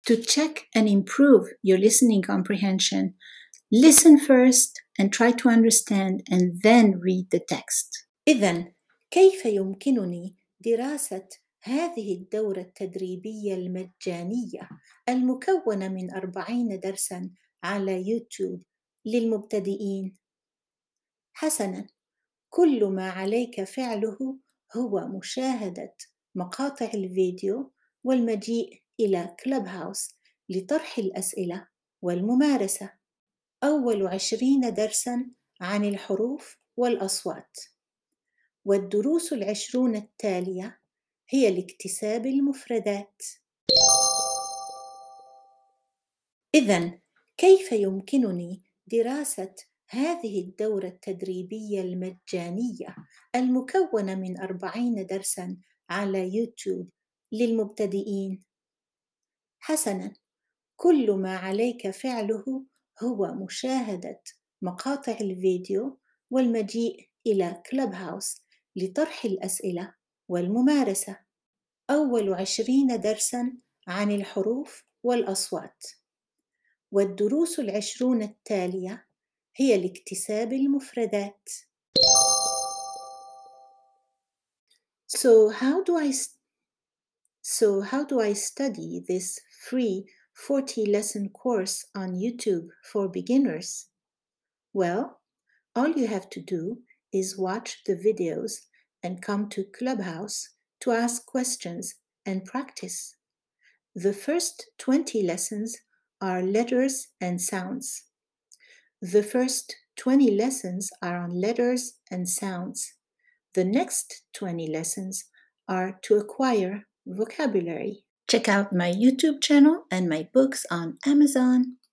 To check and improve your listening comprehension, listen first and try to understand and then read the text. إذن كيف يمكنني دراسة هذه الدورة التدريبية المجانية المكونة من 40 درساً على يوتيوب للمبتدئين؟ حسناً، كل ما عليك فعله هو مشاهدة مقاطع الفيديو والمجيء إلى كلوب هاوس لطرح الأسئلة والممارسة. أول 20 درساً عن الحروف والأصوات، والدروس 20 التالية هي لاكتساب المفردات. إذن كيف يمكنني دراسة هذه الدورة التدريبية المجانية المكونة من 40 درساً على يوتيوب للمبتدئين؟ حسناً، كل ما عليك فعله هو مشاهدة مقاطع الفيديو والمجيء إلى كلوب هاوس لطرح الأسئلة والممارسة. أول 20 درساً عن الحروف والأصوات، والدروس 20 التالية هي لاكتساب المفردات. So how do I study this free 40-lesson course on YouTube for beginners? Well, all you have to do is watch the videos and come to Clubhouse to ask questions and practice. The first 20 lessons are letters and sounds. The first 20 lessons are on letters and sounds. The next 20 lessons are to acquire vocabulary. Check out my YouTube channel and my books on Amazon.